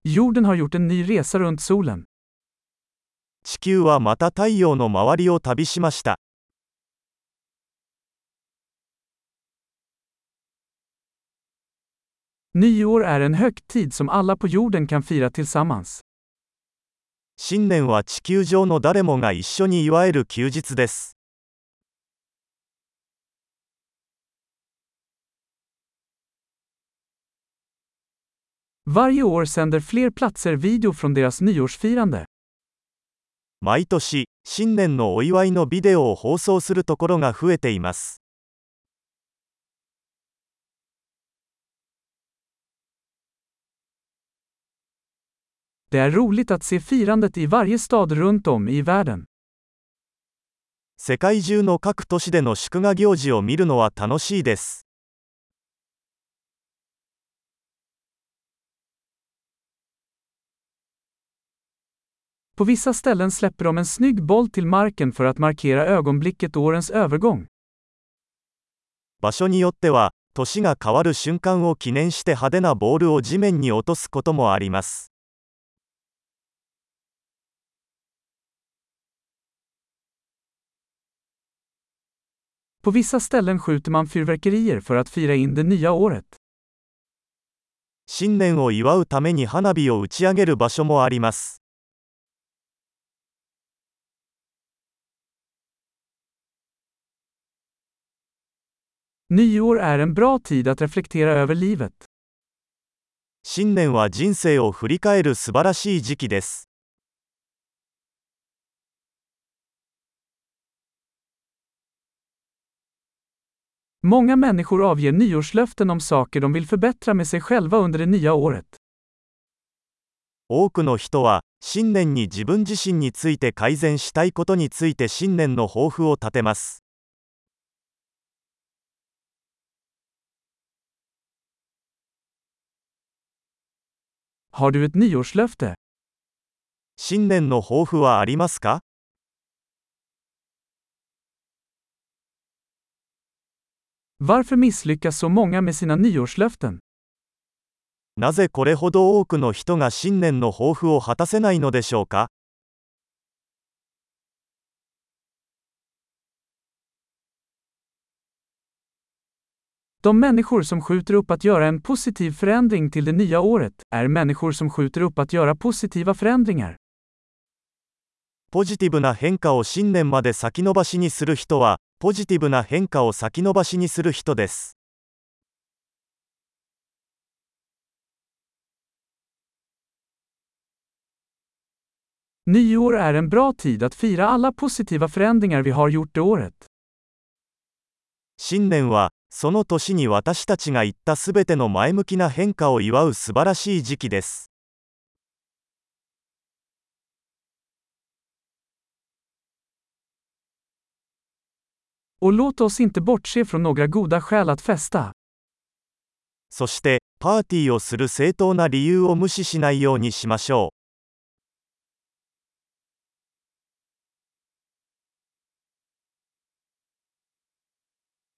Jorden har gjort en ny resa runt solen. 地球はまた太陽の周りを旅しました。 Nyår är en högtid som alla på jorden kan fira tillsammans. 新年は地球上の誰もが一緒に祝える休日です。 Varje år sänder fler platser video från deras nyårsfirande. 毎年、新年のお祝いのビデオを放送するところが増えています。 Det är roligt att se firandet i varje stad runt om i världen. 世界中の各都市での祝賀行事を見るのは楽しいです。 På vissa ställen släpper de en snygg boll till marken för att markera ögonblicket årens övergång. 場所によっては、年が変わる瞬間を記念して派手なボールを地面に落とすこともあります。 På vissa ställen skjuter man fyrverkerier för att fira in det nya året. 新年を祝うために花火を打ち上げる場所もあります。 Nyår är en bra tid att reflektera över livet. 新年は人生を振り返る素晴らしい時期です。 Många människor avger nyårslöften om saker de vill förbättra med sig själva under det nya året. 多くの人は、新年に自分自身について改善したいことについて新年の抱負を立てます。 Har du ett nyårslöfte? 新年の抱負はありますか？ Varför misslyckas så många med sina nyårslöften? なぜこれほど多くの人が新年の抱負を果たせないのでしょうか？ De människor som skjuter upp att göra en positiv förändring till det nya året är människor som skjuter upp att göra positiva förändringar. ポジティブな変化を新年まで先延ばしにする人は、ポジティブな変化を先延ばしにする人です。 Nyår är en bra tid att fira alla positiva förändringar vi har gjort det året. 新年は、その年に私たちが言ったすべての前向きな変化を祝う素晴らしい時期です。 Och låt oss inte bortse från några goda skäl att festa. そして、パーティーをする正当な理由を無視しないようにしましょう。